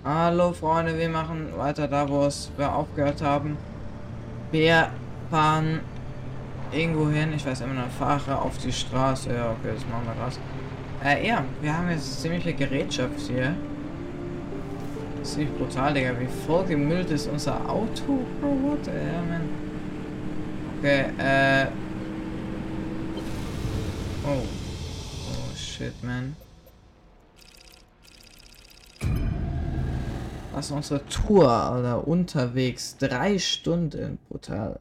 Hallo Freunde, wir machen weiter da, wo wir aufgehört haben. Wir fahren irgendwo hin. Ich weiß immer noch, fahre auf die Straße. Ja, okay, das machen wir das. Ja, wir haben jetzt ziemliche Gerätschaft hier. Ziemlich brutal, Digga. Wie voll gemüllt ist unser Auto? Bro, what the hell, man? Okay, oh. Oh, shit, man. Was ist unsere Tour, oder unterwegs? 3 Stunden. Brutal.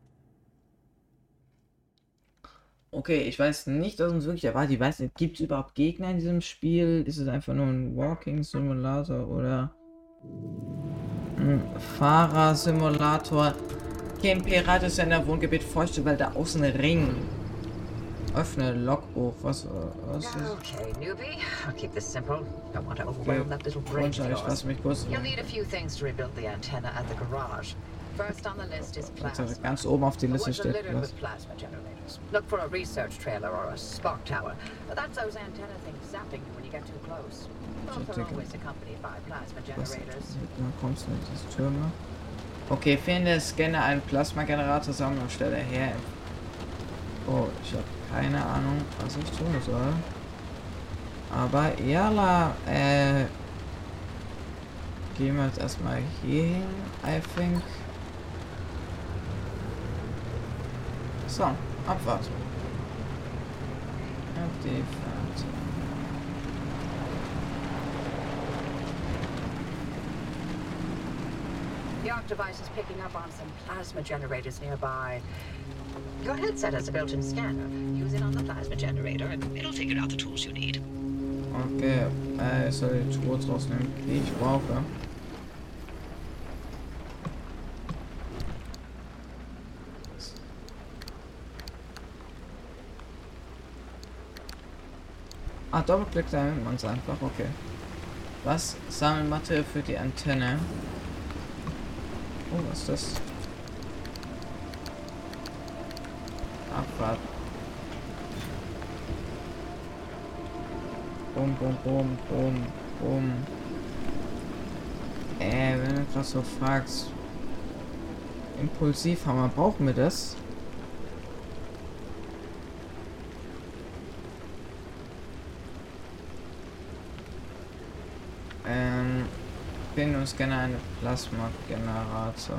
Okay, ich weiß nicht, was uns wirklich erwartet. Ich weiß nicht, gibt es überhaupt Gegner in diesem Spiel? Ist es einfach nur ein Walking Simulator oder ein Fahrersimulator? Kein Pirat ist ja in der Wohngebiet feuchte Wälder außen Ring. Öffne Logbuch. Was ist? Okay, newbie. I'll keep this simple. Don't want to Okay. overwhelm that little brain of Ich yours. lass mich kurz. You'll need a few things to rebuild the antenna at the garage. First on the list is plasma. Ganz oben auf die Liste Woods are steht. littered with plasma generators. Look for a research trailer or a spark tower. That's those antenna things zapping you when you get too close. Both are always accompanied by plasma generators. Dann kommst du in diese Türme. Okay, finde Scanner einen Plasma-Generator, Sammlungsstelle her. Oh, ich habe keine Ahnung, was ich tun soll. Aber ja, gehen wir jetzt erstmal hier hin, I think. So, Abfahrt. Auf die Fahrt. The ARC device is picking up on some plasma generators nearby. Your headset has a built-in scanner. Use it on the plasma generator and it'll figure out the tools you need. Okay, ich soll die Tour rausnehmen, die ich brauche. Ah, Doppelklick, da nimmt man es einfach, okay. Was? Sammelmaterial für die Antenne. Oh, was ist das? Abfahrt. Bum, bum, bum, bum, bum. Wenn du etwas so fragst. Impulsivhammer, brauchen wir das? Finden uns gerne eine Plasma-Generator.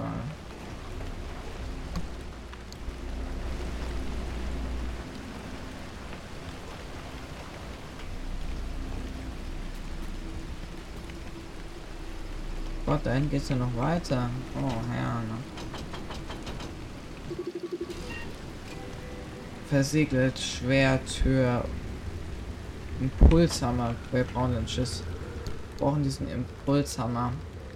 Gott, dahin geht's ja noch weiter. Oh, Herr. Versiegelt, Schwertür, Impulshammer. Wir brauchen den Schiss. Wir brauchen diesen Impulshammer.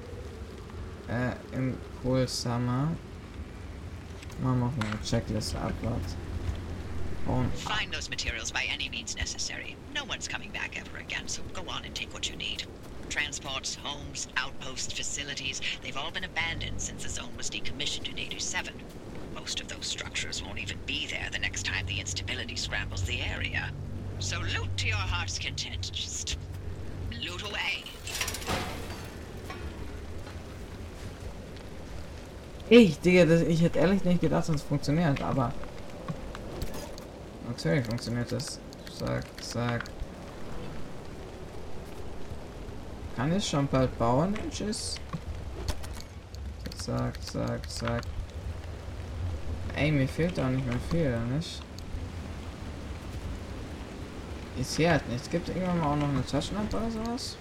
Impulshammer. Machen wir auf eine Checkliste abwärts. Und Find those materials by any means necessary. No one's coming back ever again, so go on and take what you need. Transports, homes, outposts, facilities, they've all been abandoned since the zone was decommissioned in 87. Most of those structures won't even be there the next time the instability scrambles the area. So loot to your heart's content. Just loot away. Digga, ich hätte ehrlich nicht gedacht, dass es funktioniert, aber natürlich funktioniert das. Zack. Kann ich schon bald bauen? Tschüss. Zack. Ey, mir fehlt auch nicht mehr viel, nicht? Ich sehe halt nichts. Gibt irgendwann mal auch noch eine Taschenlampe oder sowas?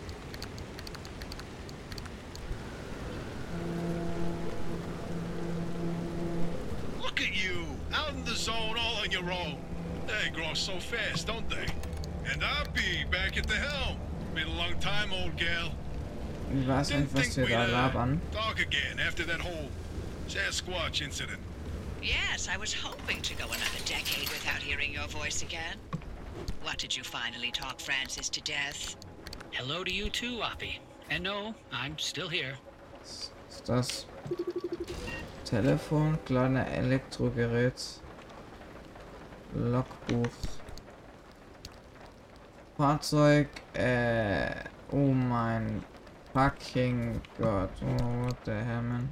Look at you, out in the zone all on your own. They grow so fast, don't they? And I'll be back at the helm. Been a long time, old gal. Wie war es Didn't eigentlich, was think wir we'd da labern? talk again after that whole Sasquatch incident. Yes, I was hoping to go another decade without hearing your voice again. What did you finally talk Francis to death? Hello to you too, Oppie. And no, I'm still here. Ist das Telefon, kleiner Elektrogerät, Logbuch, Fahrzeug, oh mein Fucking Gott. Oh, what the hell, man.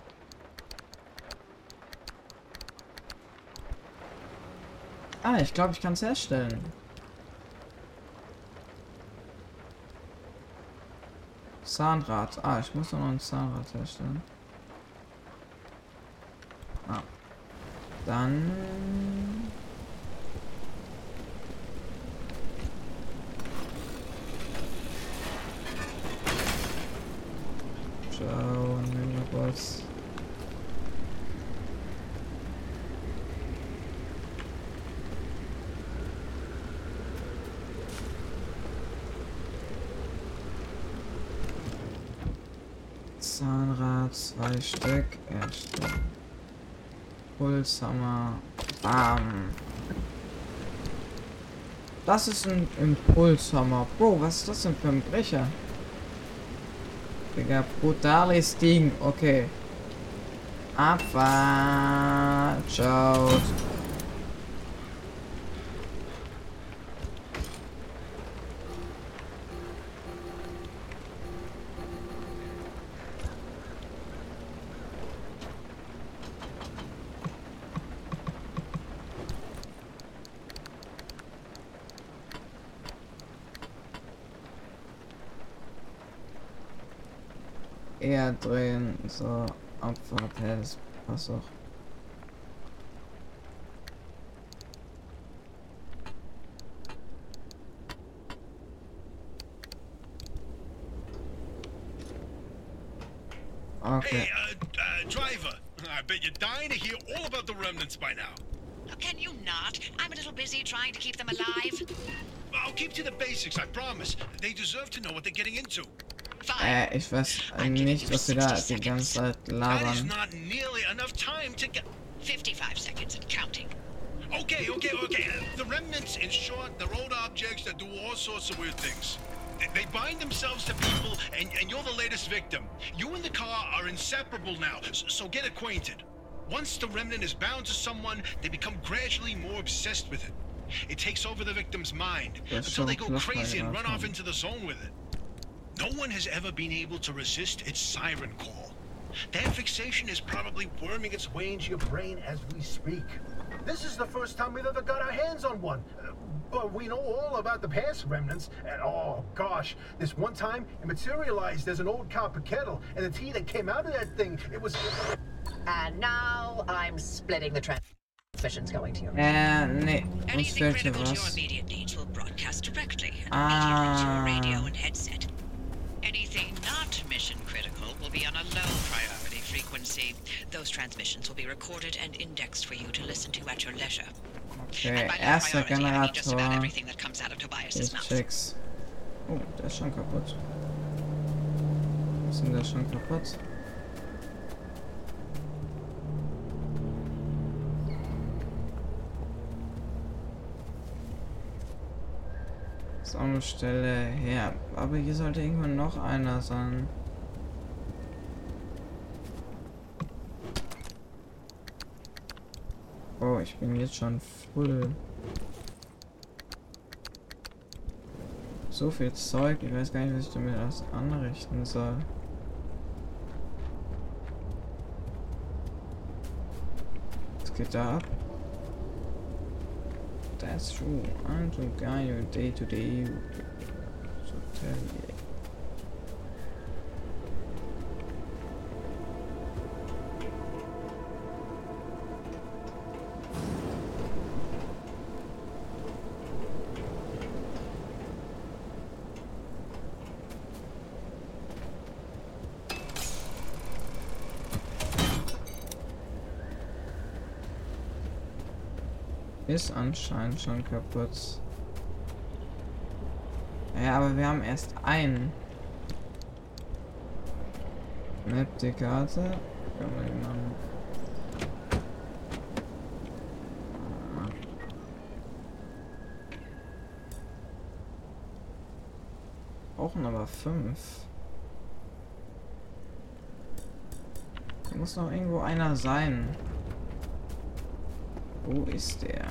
Ah, ich glaube, ich kann es herstellen. Zahnrad. Ah, ich muss noch ein Zahnrad herstellen. Ah. Dann... Ciao, Boss. Zahnrad, 2 Stück, erstellen. Pulshammer, bam. Das ist ein Impulshammer. Bro, was ist das denn für ein Brecher? Digga, brutales Ding. Okay. Abfahrt. Ciao. Eher drehen, so, Abfahrt, das passt auch. Okay. Hey, driver, I bet you're dying to hear all about the remnants by now. Oh, can you not? I'm a little busy trying to keep them alive. I'll keep to the basics, I promise. They deserve to know what they're getting into. Fine. Ich weiß nicht, was sie da die ganze Zeit That is labern. not nearly enough time to get... 55 seconds and counting. Okay. The remnants, in short, they're old objects that do all sorts of weird things. They bind themselves to people, and you're the latest victim. You and the car are inseparable now, so get acquainted. Once the remnant is bound to someone, they become gradually more obsessed with it. It takes over the victim's mind, until they go crazy and run off into the zone with it. No one has ever been able to resist its siren call. That fixation is probably worming its way into your brain as we speak. This is the first time we've ever got our hands on one. But we know all about the past remnants, and oh gosh, this one time it materialized as an old copper kettle, and the tea that came out of that thing, it was... And now I'm splitting the transmissions going to your... Nee, uns Anything fehlt hier critical to your was. immediate needs will broadcast directly and immediately to your radio and headset. Anything not mission critical will be on a low priority frequency. Those transmissions will be recorded and indexed for you to listen to at your leisure. Okay, And by low erster priority, I mean just about Generator. everything that comes out of Tobias's Ich mouth. check's. Oh, der ist schon kaputt. Ist denn der schon kaputt? Sammlstelle her. Aber hier sollte irgendwann noch einer sein. Oh, ich bin jetzt schon full. So viel Zeug, ich weiß gar nicht, was ich damit alles anrichten soll. Was geht da ab? That's true. I'm the guy who day to day. So tell you. Ist anscheinend schon kaputt. Ja, aber wir haben erst einen. Map die Karte. Können wir die machen. Brauchen aber 5. Da muss noch irgendwo einer sein. Wo ist der?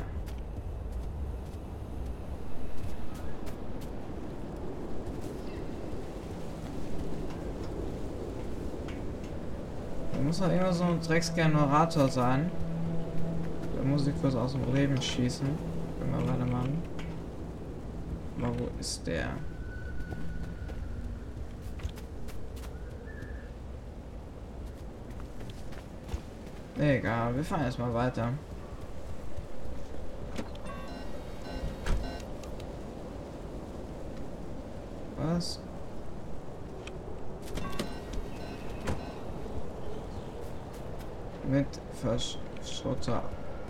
Da muss doch immer so ein Drecksgenerator sein. Da muss ich kurz aus dem Leben schießen. Können wir weitermachen. Aber wo ist der? Egal, wir fahren erstmal weiter. Was? Mit Verschrotter.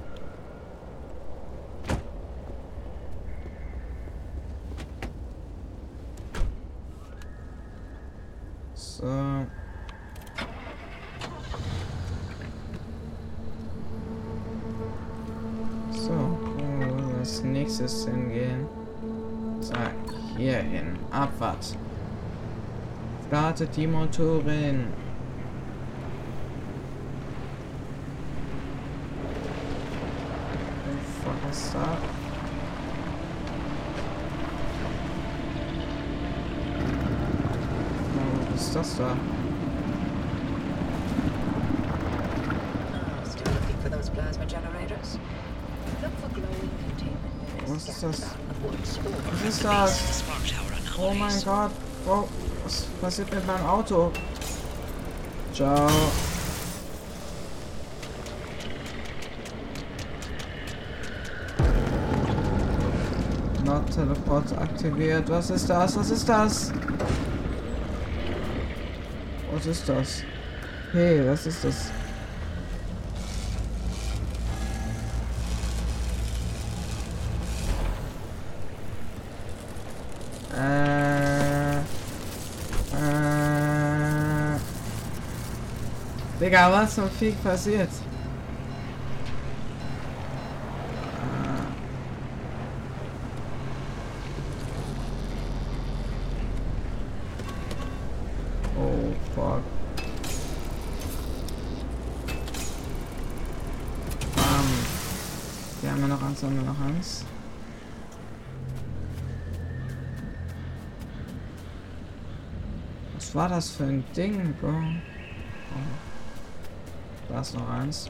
So. So, wo wir als nächstes hingehen? So, hier hin. Abwärts. Startet die Motoren. Was ist da? Oh, was ist das da? Still looking for those plasma generators? Look for glowing containment Was units ist das? scattered out in the woods or Was ist Base das? of the Spark Tower Oh mein anomalies. Gott. Oh, was passiert mit meinem Auto? Ciao. Not Teleport aktiviert. Was ist das? Was ist das? Was ist das? Hey, was ist das? Digga, was zum Fick passiert? Oh, fuck. Wir haben ja noch eins, haben wir noch eins. Was war das für ein Ding, Bro? Oh. Da ist noch eins.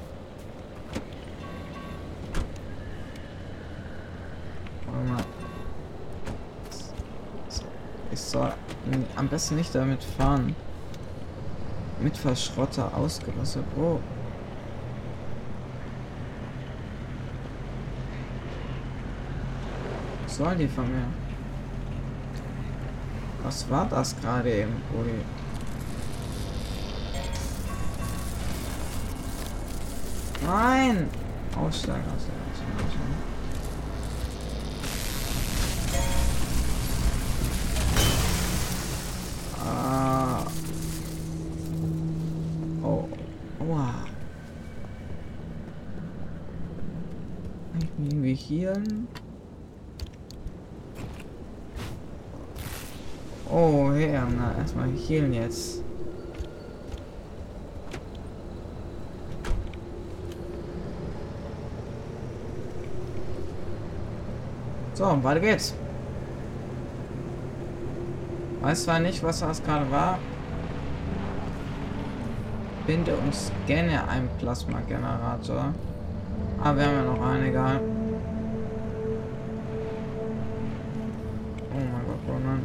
Warte mal. Ich soll am besten nicht damit fahren. Mit Verschrotter ausgerüstet. Bro. Was sollen die von mir? Was war das gerade eben, Brudi? Nein! Aussteigen, aussteigen. Ah. Oh. Wow. Kann ich mich irgendwie healen? Oh, ja, na, erstmal healen jetzt. So, weiter geht's. Weiß zwar nicht, was das gerade war. Binde und scanne einen Plasma-Generator. Aber wir haben ja noch einen, egal. Oh mein Gott, Ronan.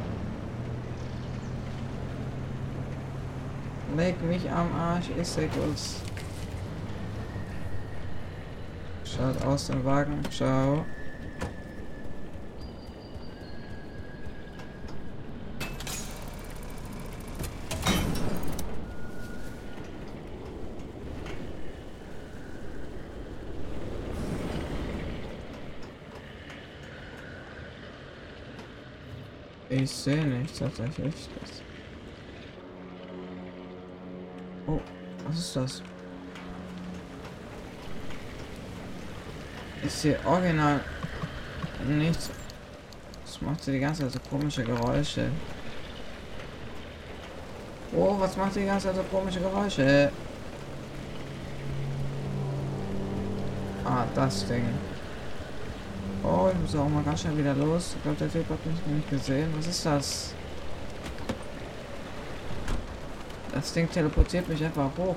Leg mich am Arsch, ich sag uns. Schaut aus dem Wagen, ciao. Ich sehe nicht tatsächlich. Oh, was ist das? Ich sehe original nichts. Das macht die ganze Zeit so komische Geräusche. Oh, was macht die ganze Zeit so komische Geräusche? Ah, das Ding. Oh, ich muss auch mal ganz schnell wieder los. Ich glaube, der Typ hat mich nicht gesehen. Was ist das? Das Ding teleportiert mich einfach hoch.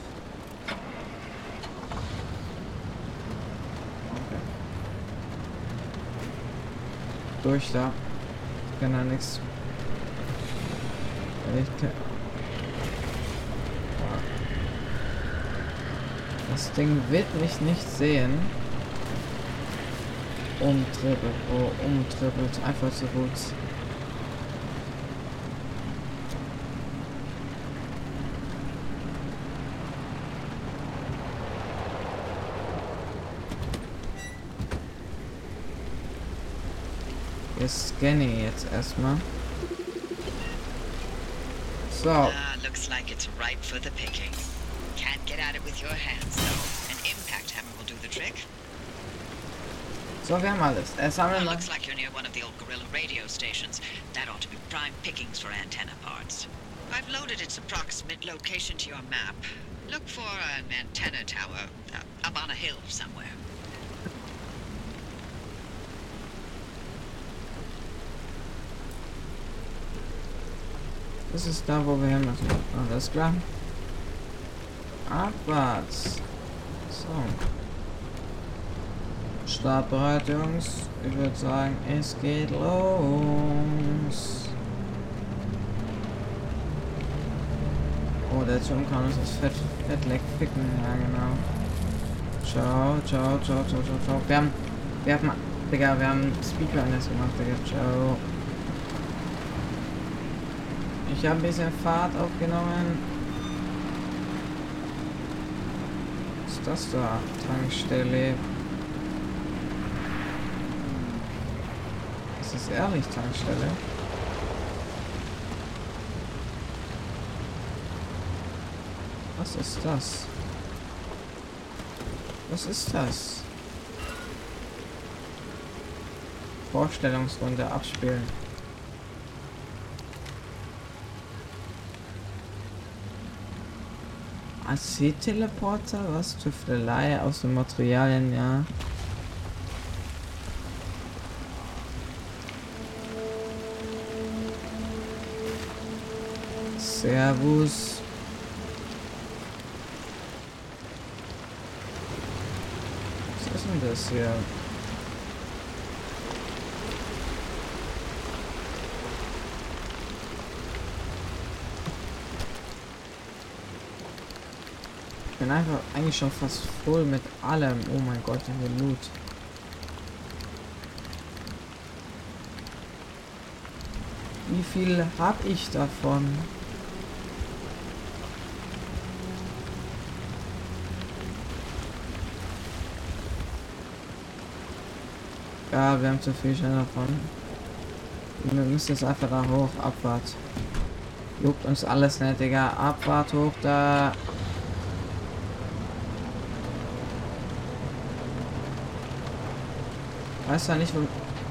Okay. Durch da. Ich kann da nichts. Das Ding wird mich nicht sehen. Umtrippelt. Oh, umtrippelt. Einfach zu gut. Wir scannen jetzt erstmal. So. Looks like it's ripe for the picking. Can't get at it with your hands, though. An impact hammer will do the trick. So, wir haben alles. Sammeln wir. Looks like you're near one of the old Gorilla radio stations. That ought to be prime pickings for antenna parts. I've loaded its approximate location to your map. Look for an antenna tower up on a hill somewhere. Das ist da, wo wir hin müssen. Alles klar. Abwärts. So. Startbereit, Jungs. Ich würde sagen, es geht los. Oh, der Turm kann uns das Fettleck picken. Ja, genau. Ciao, ciao, ciao, ciao, ciao, ciao. Wir haben, Digga, wir haben Speedrunners gemacht, Digga. Ciao. Ich habe ein bisschen Fahrt aufgenommen. Was ist das da? Tankstelle. Ist das ehrlich Tankstelle? Was ist das? Was ist das? Vorstellungsrunde abspielen. AC-Teleporter, was? Tüftelei aus den Materialien, ja. Servus. Was ist denn das hier? Ich bin einfach eigentlich schon fast voll mit allem. Oh mein Gott, hier Loot. Wie viel habe ich davon? Ja, wir haben zu viel schon davon. Wir müssen jetzt einfach da hoch. Abwart. Juckt uns alles nicht, Digga. Abwart hoch da. Weiß ja nicht, wo...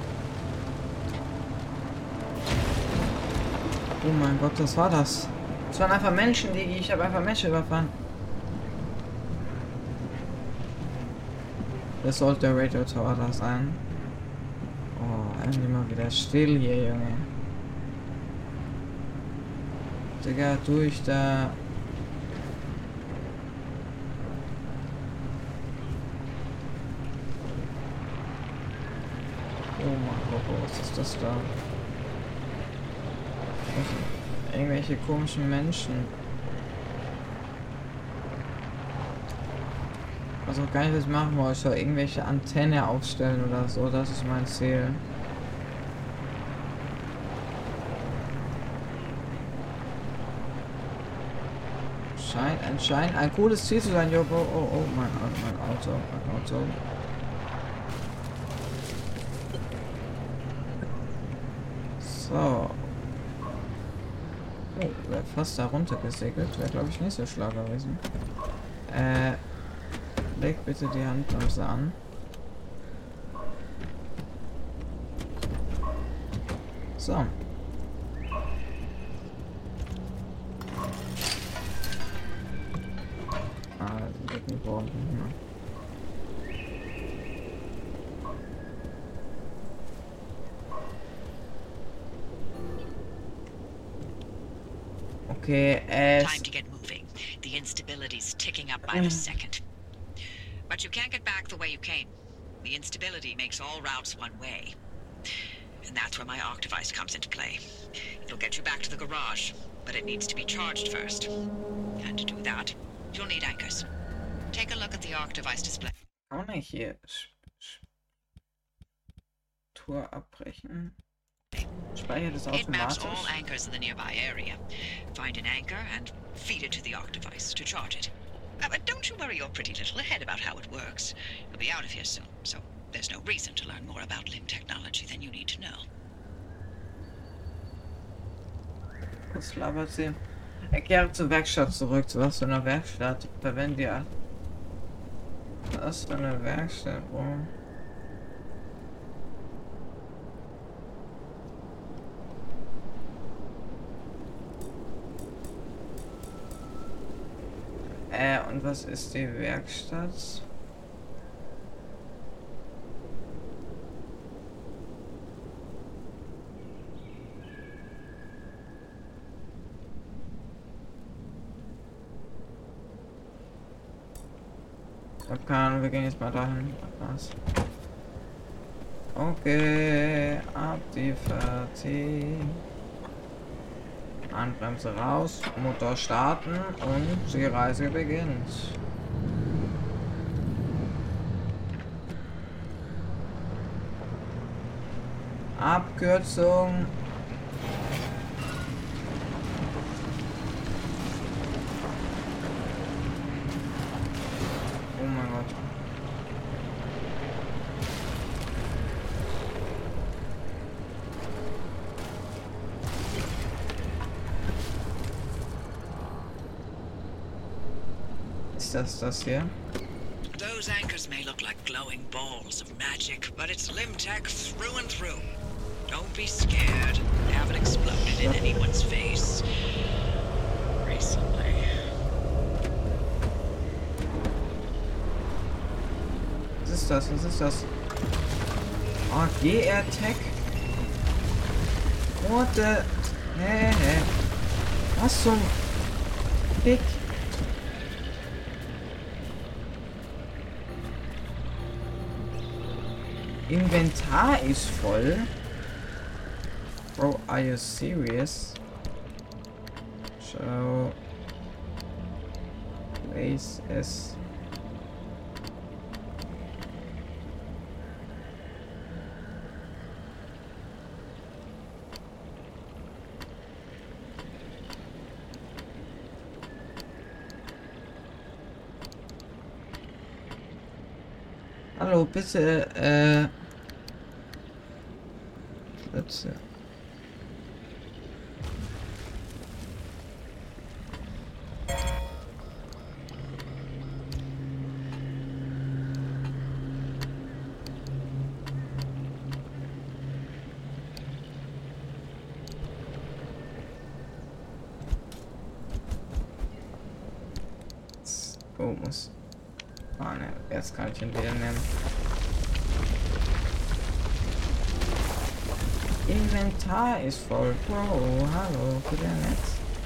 Oh mein Gott, was war das? Das waren einfach Menschen, Digi. Ich habe einfach Menschen überfahren. Das sollte der Radio Tower da sein. Oh, endlich mal wieder still hier, Junge. Digga, durch da. Oh mein Gott, was ist das da? Irgendwelche komischen Menschen. Also gar nicht, was ich machen wollte. Ich soll irgendwelche Antenne aufstellen oder so. Das ist mein Ziel. Scheint ein cooles Ziel zu sein, Joko. Oh, mein Auto. So. Oh, wäre fast da runter gesegelt. Wäre, glaube ich, nicht so schlau gewesen. Leg bitte die Handbremse an. So. Das wird nicht brauchen. Okay, Time to get moving. The instability's ticking up by the second. But you can't get back the way you came. The instability makes all routes one way. And that's where my arc device comes into play. It'll get you back to the garage, but it needs to be charged first. And to do that, you'll need anchors. Take a look at the arc device display. Kann man hier Tour abbrechen? Speichert es It maps all automatisch? anchors in the nearby area. Find an anchor and feed it to the arc device to charge it. But don't you worry your pretty little head about how it works. You'll be out of here soon, so there's no reason to learn more about limb technology than you need to know. Was labert sie? Kehre zur Werkstatt zurück. Zu was für einer Werkstatt? Verwende ja. Was für eine Werkstatt, Bro? Und was ist die Werkstatt? Ich hab keine Ahnung, wir gehen jetzt mal dahin. Was? Okay, ab die Fertig. Handbremse raus, Motor starten und die Reise beginnt. Abkürzung. Oh mein Gott. Ist das hier? Those anchors may look like glowing balls of magic, but it's limb tech through and through. Don't be scared. They haven't exploded in anyone's face recently. Was ist das? Was ist das? Oh, GR-Tech? What the... Hä? Was zum... Fick? Inventar ist voll. Bro, are you serious? So... Place es... Hallo, bitte, bitte. Oh, muss. Ah, ne, jetzt kann ich ihn wieder nehmen. Inventar ist voll. Bro, hallo, wieder nett.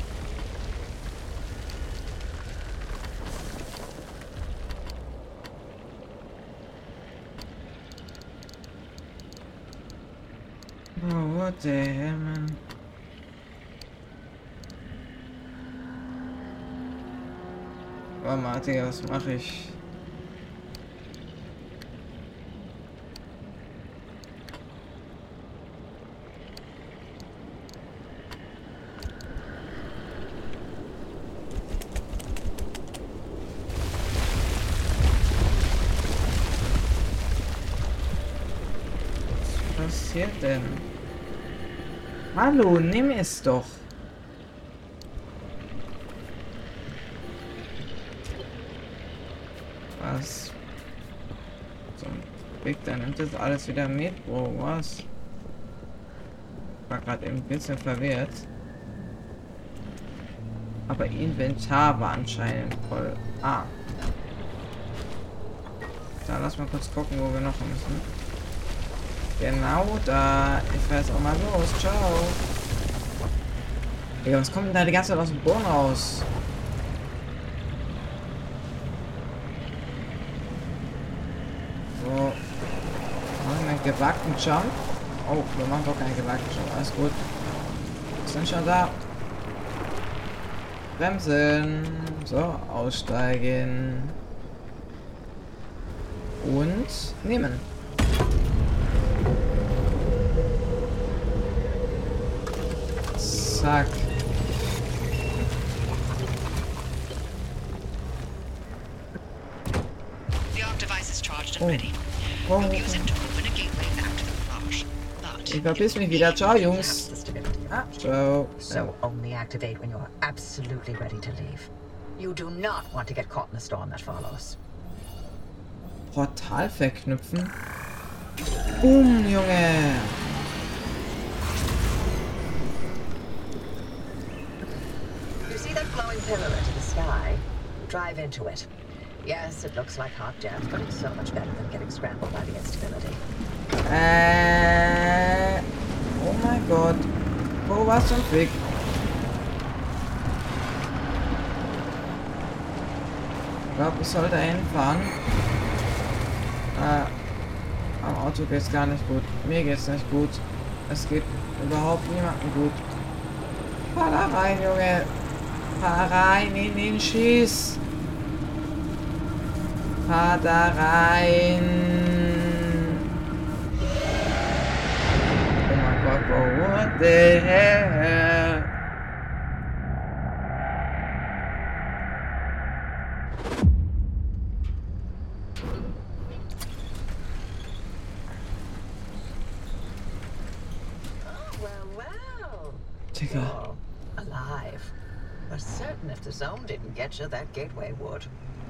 Bro, what the hell, man? Warte mal, Digga, was mache ich? Was passiert denn? Hallo, nimm es doch. Was? So, Big, dann nimmt das alles wieder mit, Bro, was? War gerade ein bisschen verwirrt. Aber Inventar war anscheinend voll. Ah. Da lass mal kurz gucken, wo wir noch müssen. Genau da. Ich fahr jetzt auch mal los. Ciao. Digga, was kommt denn da die ganze Zeit aus dem Boden raus? gebackten Jump. Oh, wir machen doch keinen gebackten Jump. Alles gut. Wir sind schon da. Bremsen. So, aussteigen. Und nehmen. Zack. The arc device is charged and ready. Oh. We'll use it to open a gateway back to the garage. But Ich verpiss mich wieder. Ciao, Jungs. The stability. Ah, ciao. So only activate when you're absolutely ready to leave. You do not want to get caught in the storm that follows. Portal verknüpfen. Boom, Junge. You see that glowing pillar into the sky? Drive into it. Yes, it looks like hot death, but it's so much better than getting scrambled by the instability. Oh mein Gott. Wo war's zum Fick? Ich glaube, ich sollte hinfahren. Am Auto geht's gar nicht gut. Mir geht's nicht gut. Es geht überhaupt niemandem gut. Fahr da rein, Junge. Fahr rein in den Schieß. Fahr da rein. Oh mein Gott, oh, what the hell? Well. Digga. Oh, alive. We're certain if the zone didn't get you, that gateway would.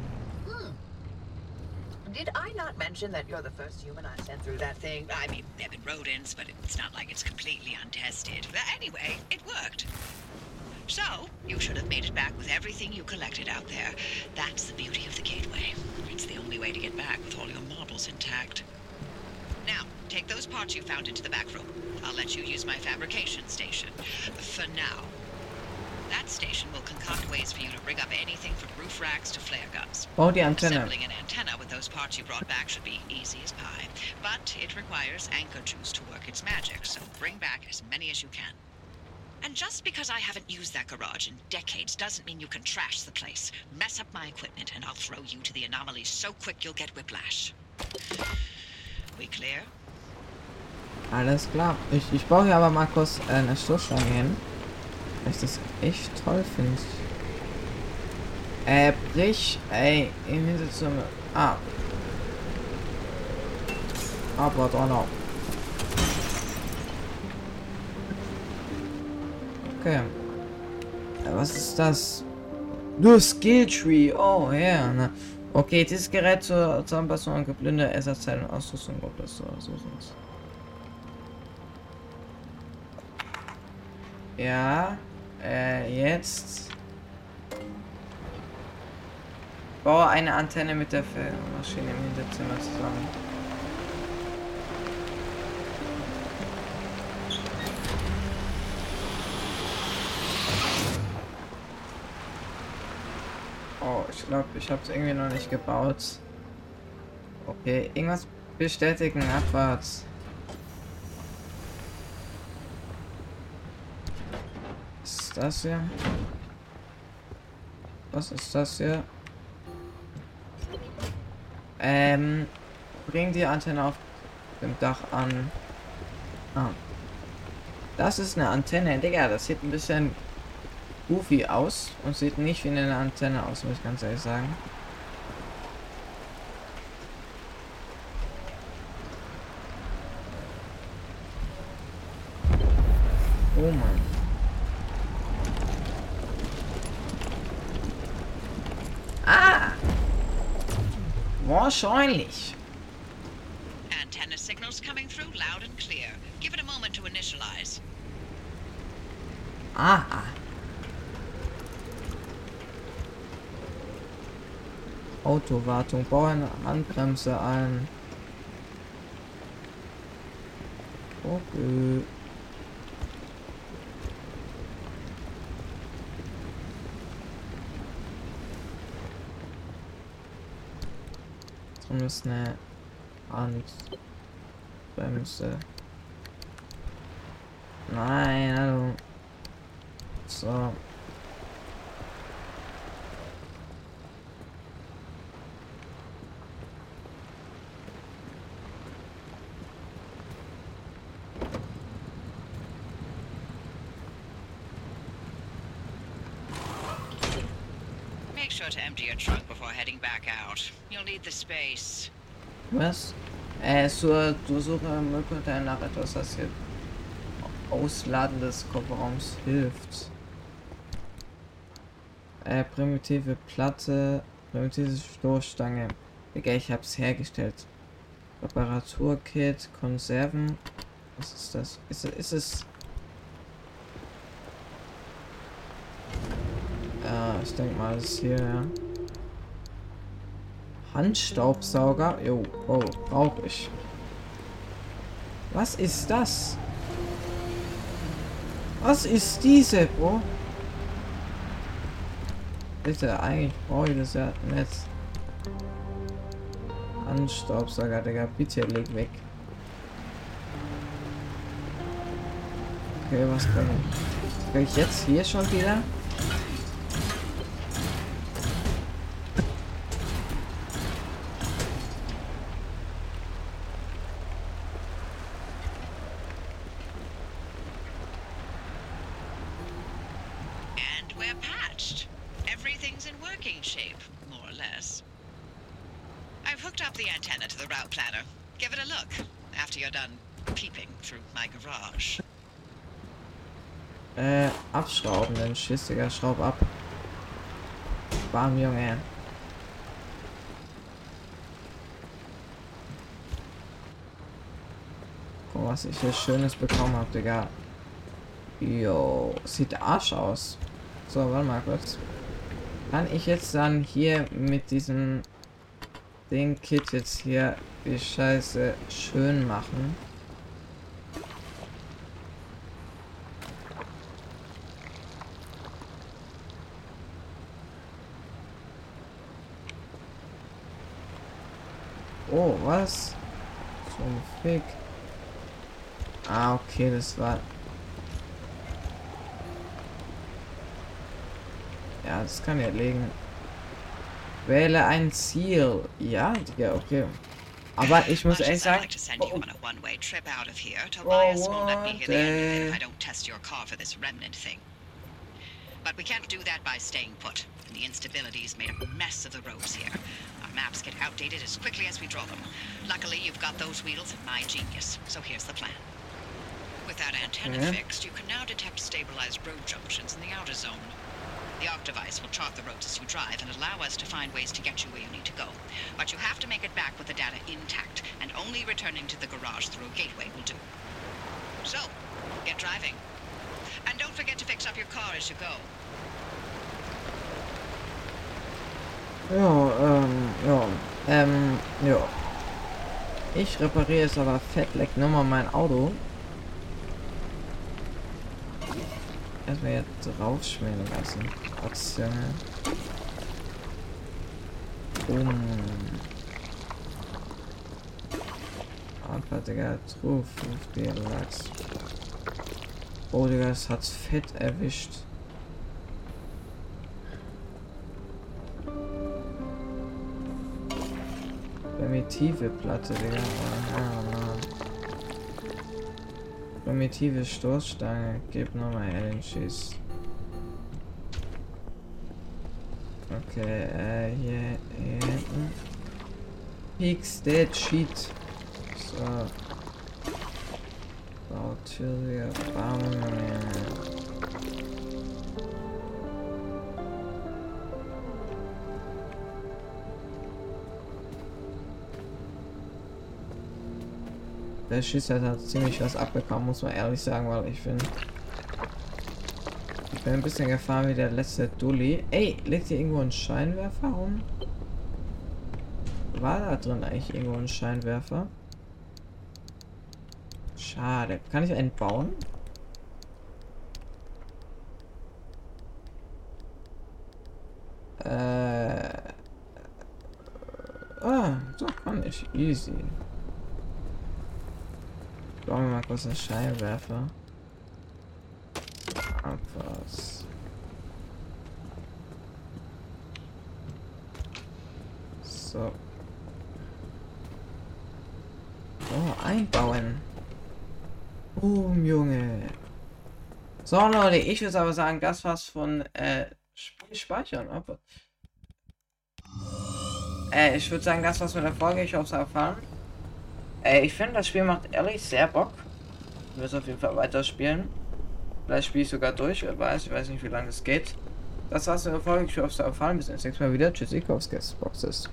Did I not mention that you're the first human I sent through that thing? I mean, they've been rodents, but it's not like it's completely untested. But anyway, it worked. So, you should have made it back with everything you collected out there. That's the beauty of the gateway. It's the only way to get back with all your marbles intact. Now, take those parts you found into the back room. I'll let you use my fabrication station. For now. That station will concoct ways for you to rig up anything from roof racks to flare guns. Bau die Antenne. Assembling an antenna with those parts you brought back should be easy as pie. But it requires anchor juice to work its magic, so bring back as many as you can. And just because I haven't used that garage in decades doesn't mean you can trash the place. Mess up my equipment and I'll throw you to the anomalies so quick you'll get whiplash. We clear? Alles klar. Ich baue hier aber mal kurz eine Stoßstange hin. Weil ich das echt toll finde. Brich, ey, im Hinterzimmer. Ah. Aber doch noch. Okay. Was ist das? Du Skill Tree. Oh, ja. Ne. Okay, dieses Gerät zur Anpassung an geblinde Ersatzteile und Ausrüstung. Ob das so ist. Ja. Jetzt. Baue eine Antenne mit der Maschine im Hinterzimmer zusammen. Oh, ich glaube, ich habe es irgendwie noch nicht gebaut. Okay, irgendwas bestätigen, abwärts. Was ist das hier? Was ist das hier? Bring die Antenne auf dem Dach an. Ah. Das ist eine Antenne, Digga, das sieht ein bisschen goofy aus und sieht nicht wie eine Antenne aus, muss ich ganz ehrlich sagen. Oh Mann. Ah! Wahrscheinlich. Antenna signals coming through loud and clear. Give it a moment to initialize. Ah. Autowartung, baue eine Handbremse ein. Okay. Drum ist eine Bremse. Nein, hallo. So. Make sure to empty your trunk before heading back out. You'll need the space. Was? Durchsuche Müllcontainer nach etwas, das hier Ausladen des Kofferraums hilft. Primitive Platte, primitive Stoßstange. Digga, ich hab's hergestellt. Reparaturkit, Konserven. Was ist das? Ist es? Ja, ich denke mal, das ist hier, ja. Handstaubsauger. Jo, oh, brauche ich. Was ist das? Was ist diese, Bro? Bitte, eigentlich brauche ich das ja nicht. Handstaubsauger, Digga, bitte leg weg. Okay, was kann ich? Kann ich jetzt hier schon wieder? We're patched. Everything's in working shape, more or less. I've hooked up the antenna to the route planner. Give it a look after you're done peeping through my garage. Abschrauben, den Schiss, Digga, schraub ab. Bam, Junge. Guck, was ich hier Schönes bekommen habe, Digga. Jo, sieht Arsch aus. So, warte mal kurz. Kann ich jetzt dann hier mit diesem Kit jetzt hier die Scheiße schön machen? Oh, was? Zum Fick. Ah, okay, das war... Ja, das kann ich erlegen. Wähle ein Ziel. Ja, Digga, okay. Aber ich muss ehrlich sagen... But we can't do that by staying put. The instability's made a mess of the roads here. Our maps get outdated as quickly as we draw them. Luckily, you've got those wheels and my genius. So here's the plan. With that antenna fixed, you can now detect stabilized road junctions in the outer zone. The Octavice will chart the roads as you drive and allow us to find ways to get you where you need to go. But you have to make it back with the data intact, and only returning to the garage through a gateway will do. So, get driving. And don't forget to fix up your car as you go. Ja. Ich repariere jetzt aber fettleck nochmal mein Auto. Erstmal jetzt draufschmieren lassen. Aktion. Aber Digga, drauf, der Lachs. Oh, Digga, das hat's fett erwischt. Primitive Platte, Digga. Primitive Stoßstange. Gib nochmal her den Schiss. Okay, hier hinten. Fix that shit. So. Bautür, Bam. Der Schiss hat ziemlich was abbekommen, muss man ehrlich sagen, weil ich bin ein bisschen gefahren wie der letzte Dulli. Ey, liegt hier irgendwo ein Scheinwerfer rum? War da drin eigentlich irgendwo ein Scheinwerfer? Schade. Kann ich einen bauen? Doch, kann ich. Easy. bauen wir mal kurz einen Scheinwerfer. Abwas. So. Oh, einbauen. Junge. So, Leute, ich würde aber sagen, das war's von Spiel speichern. Ich würde sagen, das war's mit der Folge. Ich hoffe, es hat gefallen. Ich finde, das Spiel macht ehrlich sehr Bock. Ich will es auf jeden Fall weiterspielen. Vielleicht spiele ich sogar durch, wer weiß. Ich weiß nicht, wie lange es geht. Das war's mit der Folge. Ich hoffe, es hat gefallen. Bis zum nächsten Mal wieder. Tschüssi, Boxes.